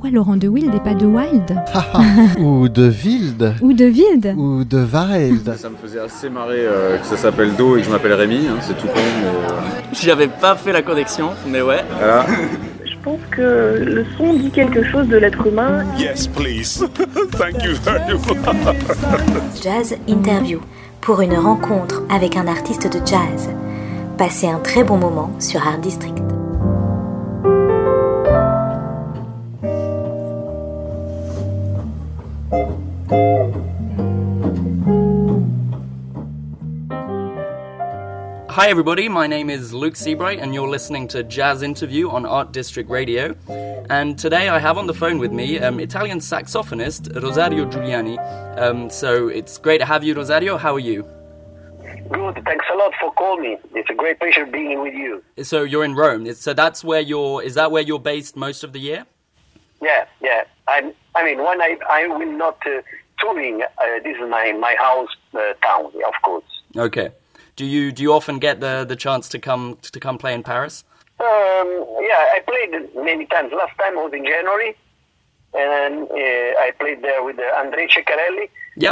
Pourquoi Laurent de Wild et pas de Wild? Ou de Wild. Ou de Wild. Ou de Wild. Ça me faisait assez marrer que ça s'appelle Do et que je m'appelle Rémi, c'est tout con. Mais... J'avais pas fait la connexion, mais ouais. Voilà. Je pense que le son dit quelque chose de l'être humain. Yes, please. Thank you very much. Jazz Interview, pour une rencontre avec un artiste de jazz. Passez un très bon moment sur Art District. Hi everybody, my name is Luke Seabright and you're listening to Jazz Interview on Art District Radio. And today I have on the phone with me Italian saxophonist Rosario Giuliani. So it's great to have you, Rosario. How are you? Good, thanks a lot for calling me. It's a great pleasure being with you. So you're in Rome. So that's where is that where you're based most of the year? Yeah. I mean, when I will not touring, this is my house town, of course. Okay. Do you often get the chance to come play in Paris? Yeah, I played many times. Last time was in January, and I played there with Andrei Ceccarelli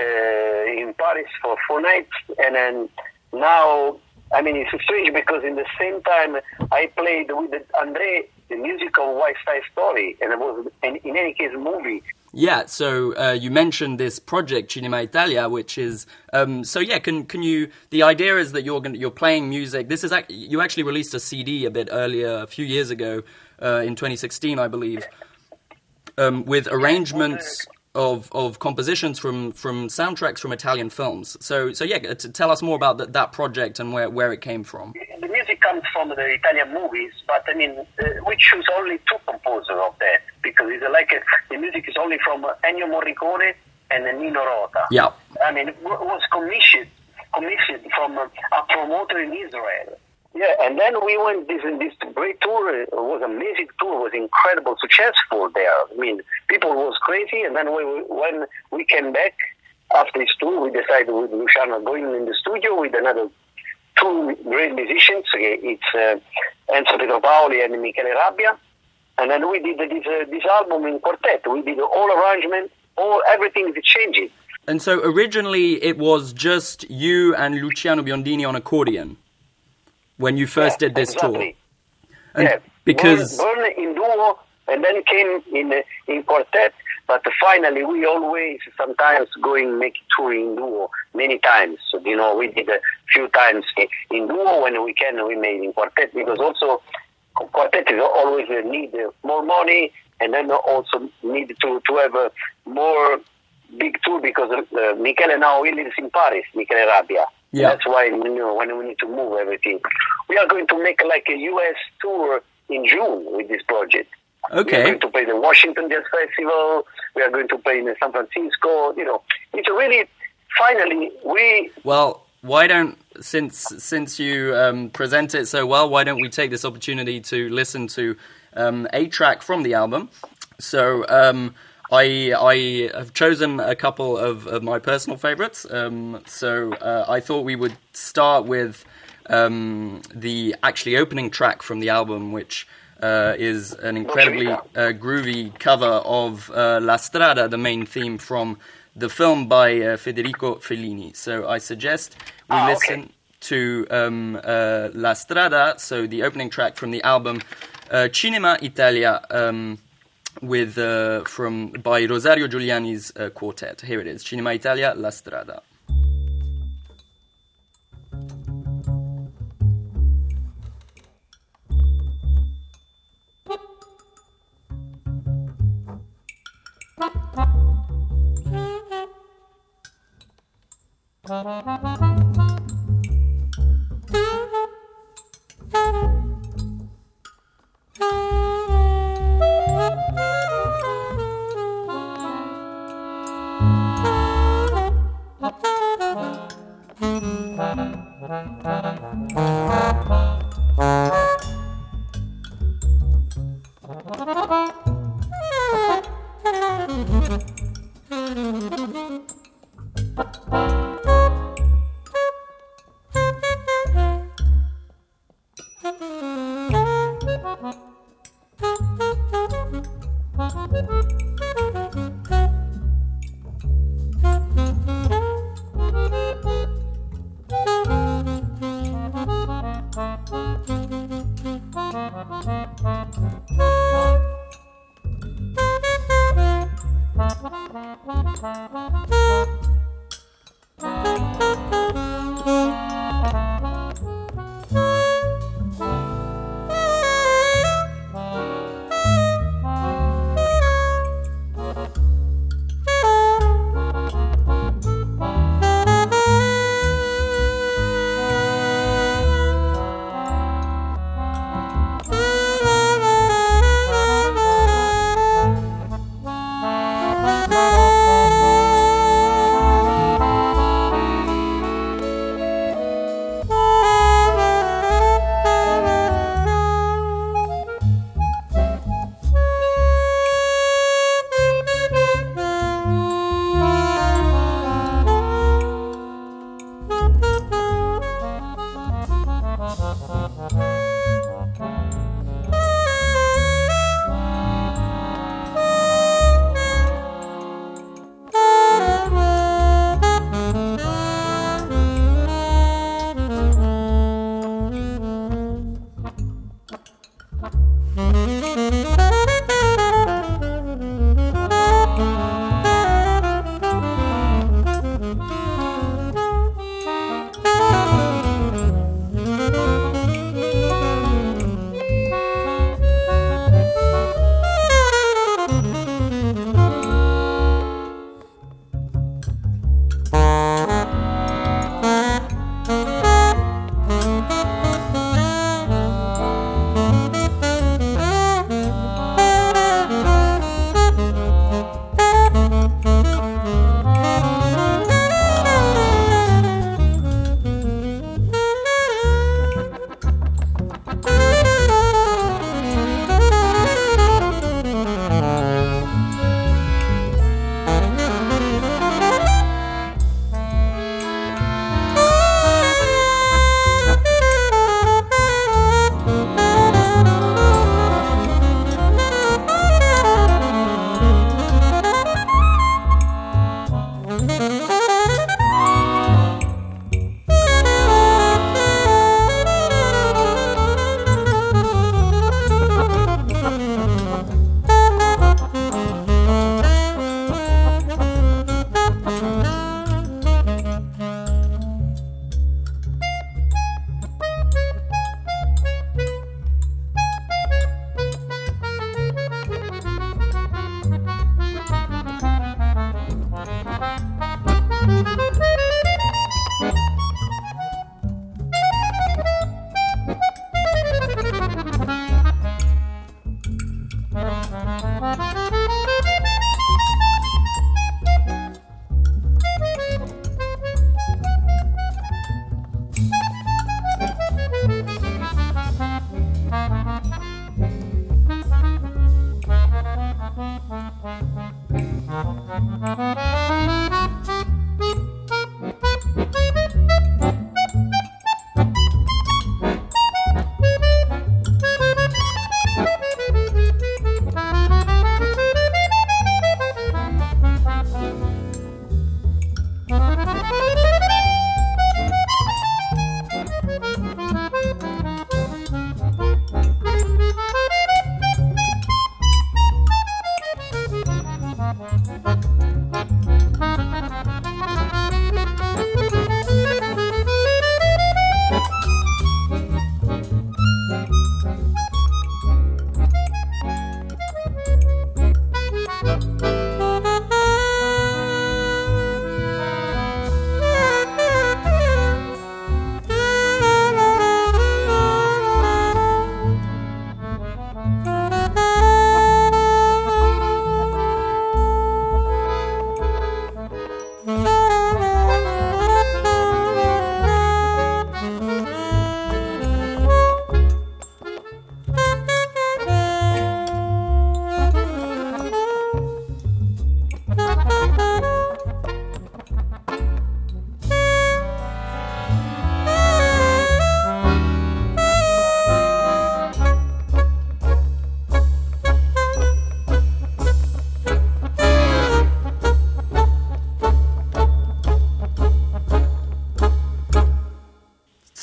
in Paris for 4 nights. And then now, I mean, it's strange because in the same time I played with Andrei the musical West Side Story, and it was in any case a movie. Yeah, so you mentioned this project Cinema Italia, which is can you? The idea is that you're playing music. This is you actually released a CD a bit earlier, a few years ago, in 2016, I believe, with arrangements of compositions from soundtracks from Italian films. So tell us more about that project and where it came from. The music comes from the Italian movies, but I mean, we choose only 2 composers of that because it's the music is only from Ennio Morricone and Nino Rota. Yeah, I mean, it was commissioned from a promoter in Israel. Yeah, and then we went this great tour. It was an amazing tour. It was incredible, successful there. I mean, people was crazy. And then when we came back after this tour, we decided with Luciano going in the studio with another 2 great musicians. It's Enzo Petropaoli and Michele Rabbia. And then we did this album in quartet. We did all arrangement, everything is changing. And so originally it was just you and Luciano Biondini on accordion when you first did this exactly. Tour. And because Burn in duo and then came in quartet. But finally, we always sometimes make tour in duo many times. So, we did a few times in duo when we can. We made in quartet because also quartet is always need more money and then also need to have a more big tour because Michele now he lives in Paris, Michele Rabbia. Yeah. That's why when we need to move everything. We are going to make like a US tour in June with this project. Okay. We are going to play the Washington Jazz Festival. We are going to play in San Francisco. It's really, finally, Well, why don't, since you present it so well, why don't we take this opportunity to listen to a track from the album? So I have chosen a couple of my personal favorites. I thought we would start with the actually opening track from the album, which is an incredibly groovy cover of La Strada, the main theme from the film by Federico Fellini. So I suggest we listen to La Strada, so the opening track from the album Cinema Italia, by Rosario Giuliani's quartet. Here it is, Cinema Italia, La Strada.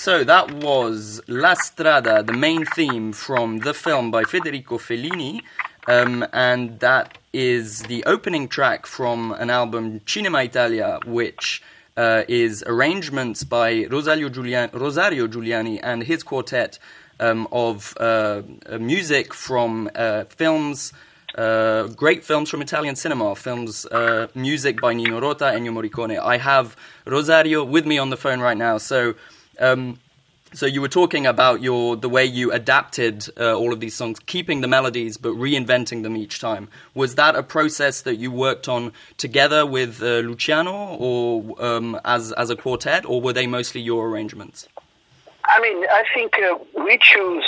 So that was La Strada, the main theme from the film by Federico Fellini, and that is the opening track from an album, Cinema Italia, which is arrangements by Rosario Giuliani and his quartet of music from films, great films from Italian cinema, films, music by Nino Rota, Ennio Morricone. I have Rosario with me on the phone right now. So you were talking about the way you adapted all of these songs, keeping the melodies but reinventing them each time. Was that a process that you worked on together with Luciano, or as a quartet, or were they mostly your arrangements? I mean, I think we choose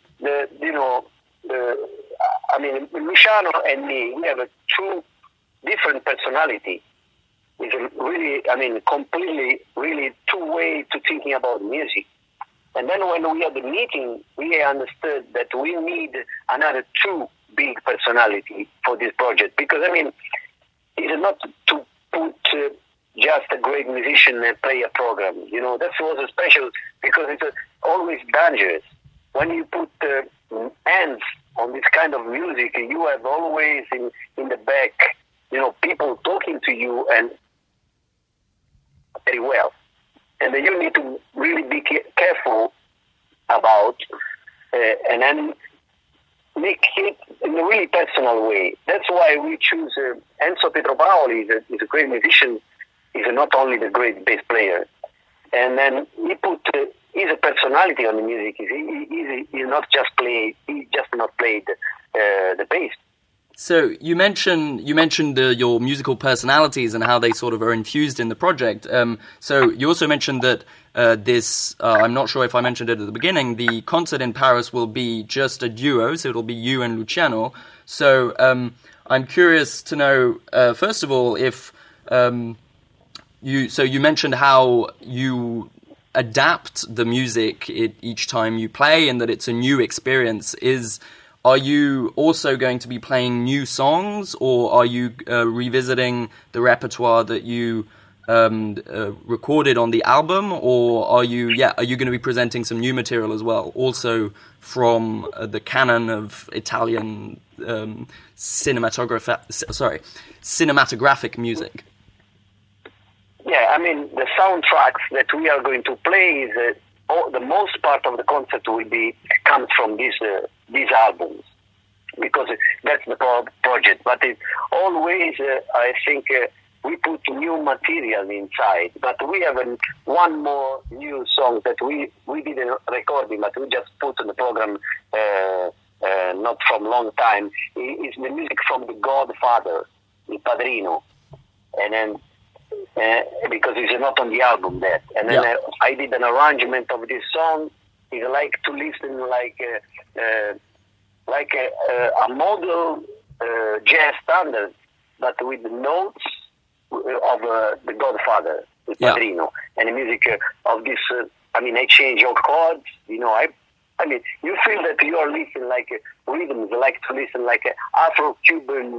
Luciano and me, we have a true different personality. It's really, completely, really two ways to thinking about music. And then when we had the meeting, we understood that we need another two big personality for this project. Because, it's not to put just a great musician and play a program. That was special because it's always dangerous. When you put hands on this kind of music, you have always in the back, people talking to you and very well. And then you need to really be careful about and then make it in a really personal way. That's why we choose Enzo Petropaoli. Is a great musician. He's not only the great bass player. And then he put his personality on the music. He's not just played. He just not played the bass. So you mentioned your musical personalities and how they sort of are infused in the project. So you also mentioned that this, I'm not sure if I mentioned it at the beginning, the concert in Paris will be just a duo, so it'll be you and Luciano. So I'm curious to know, first of all, if you mentioned how you adapt the music each time you play and that it's a new experience. Are you also going to be playing new songs, or are you revisiting the repertoire that you recorded on the album, or are you going to be presenting some new material as well, also from the canon of Italian cinematographic music? Yeah, the soundtracks that we are going to play is the most part of the concert will comes from these albums, because that's the project. But it always, I think, we put new material inside. But we have one more new song that we didn't record it, but we just put in the program not from long time. It's the music from The Godfather, Il Padrino, and then. Because it's not on the album yet. And then I did an arrangement of this song. It's like to listen like a model jazz standard, but with the notes of The Godfather, the Padrino, and the music of this. I change your chords. You feel that you are listening like rhythms, like to listen like Afro-Cuban.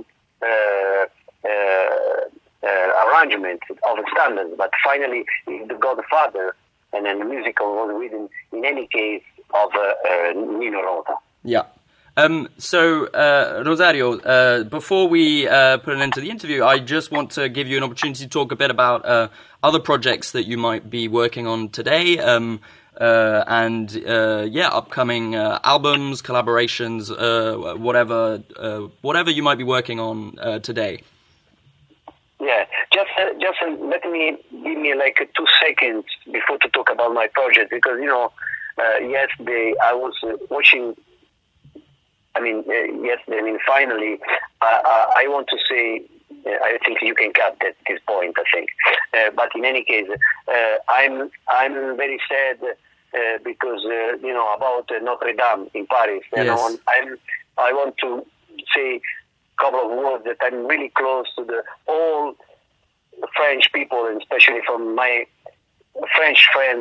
Arrangement of standards, but finally The Godfather, and then the musical was written in any case of Nino Rota. Yeah. So Rosario, before we put an end to the interview, I just want to give you an opportunity to talk a bit about other projects that you might be working on today, and upcoming albums, collaborations, whatever you might be working on today. Yeah, just let me give me like 2 seconds before to talk about my project, because yesterday I was watching. Yesterday. Finally, I want to say. I think you can cut at this point. I think, but in any case, I'm very sad because about Notre Dame in Paris. Yes. I want to say couple of words that I'm really close to all the French people, and especially from my French friends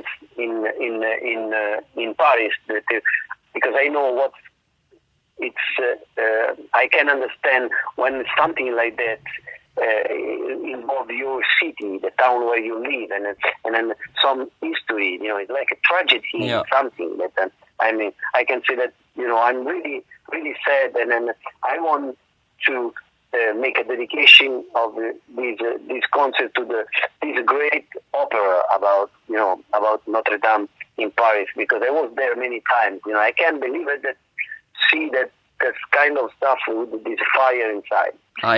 in Paris, because I know what it's. I can understand when something like that involve your city, the town where you live, and then some history. It's like a tragedy, something that. I mean, I can say that I'm really, really sad, and then I want to make a dedication of this concert to this great opera about Notre Dame in Paris, because I was there many times. I can't believe it that see that kind of stuff with this fire inside.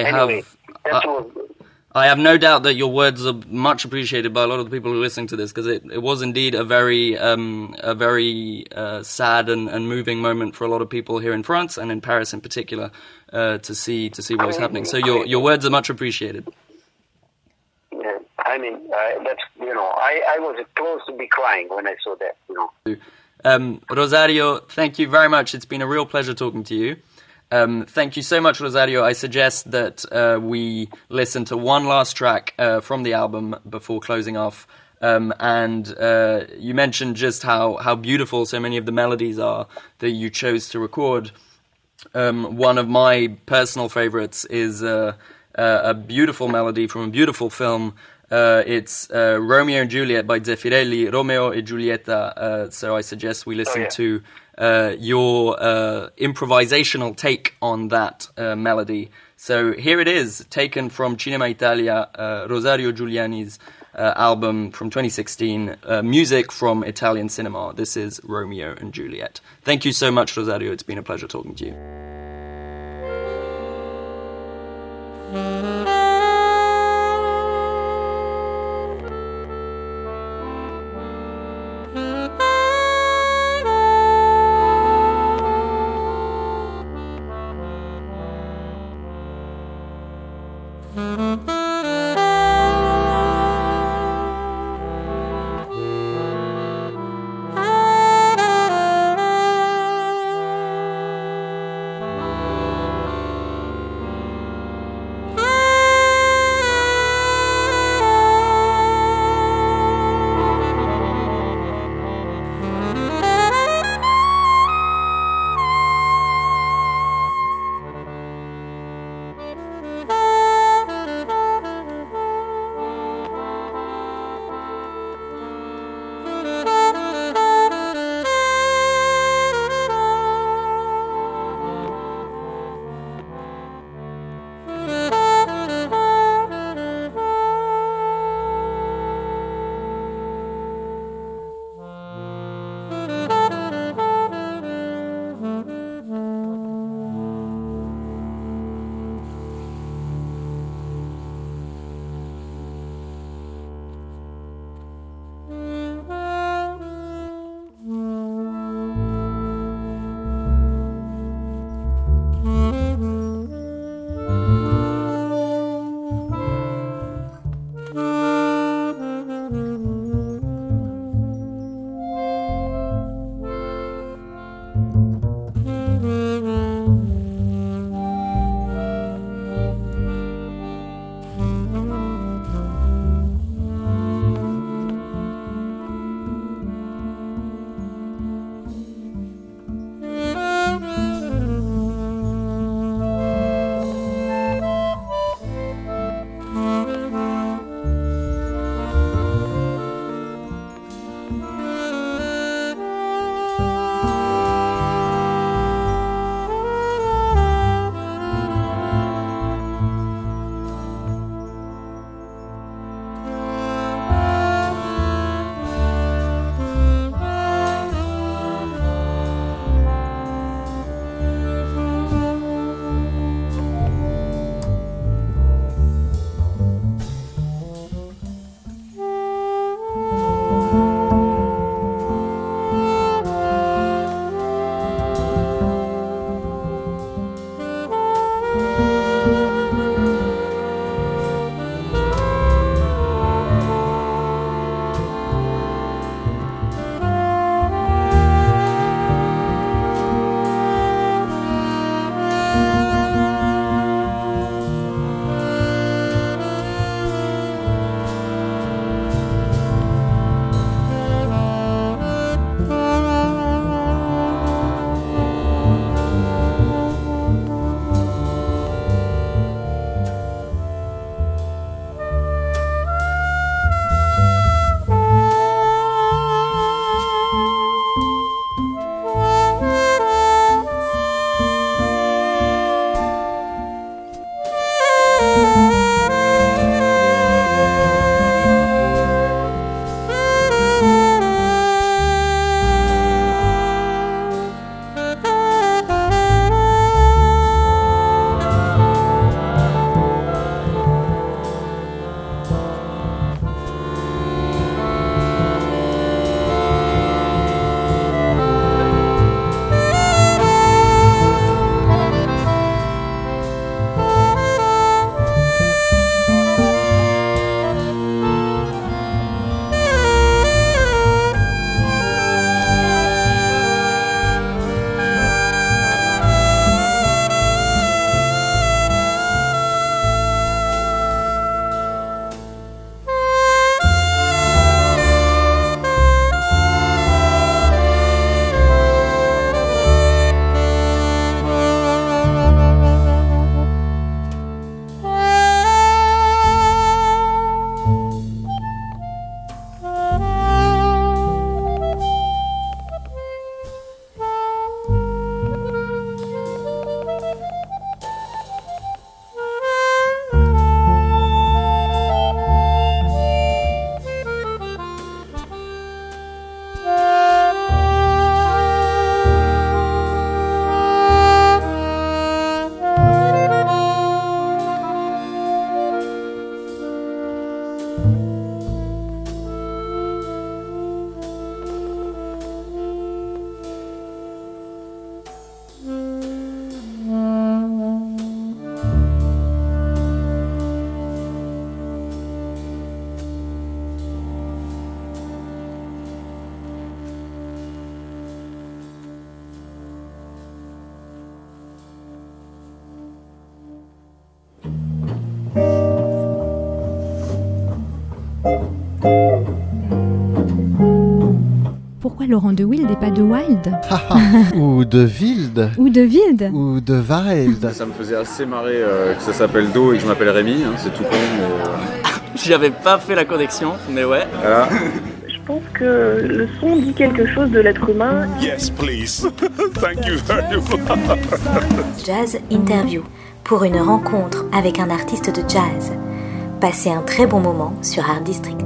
I have no doubt that your words are much appreciated by a lot of the people who are listening to this, because it was indeed a very sad and moving moment for a lot of people here in France and in Paris in particular to see what was happening. So your words are much appreciated. Yeah, I mean that's I was close to be crying when I saw that. Rosario, thank you very much. It's been a real pleasure talking to you. Thank you so much, Rosario. I suggest that we listen to one last track from the album before closing off. And you mentioned just how beautiful so many of the melodies are that you chose to record. One of my personal favorites is a beautiful melody from a beautiful film. It's Romeo and Juliet by Zeffirelli, Romeo e Giulietta. So I suggest we listen to your improvisational take on that melody. So here it is, taken from Cinema Italia, Rosario Giuliani's album from 2016, music from Italian cinema. This is Romeo and Juliet. Thank you so much, Rosario. It's been a pleasure talking to you. Pourquoi Laurent de Wild et pas de Wild? Ou de Wild. Ou de Wild? Ou de Wild. Ça me faisait assez marrer que ça s'appelle Do et que je m'appelle Rémi, hein, c'est tout con, mais... J'avais pas fait la connexion, mais ouais. Voilà. Je pense que le son dit quelque chose de l'être humain. Yes, please. Thank you very much. Jazz Interview, pour une rencontre avec un artiste de jazz. Passez un très bon moment sur Art District.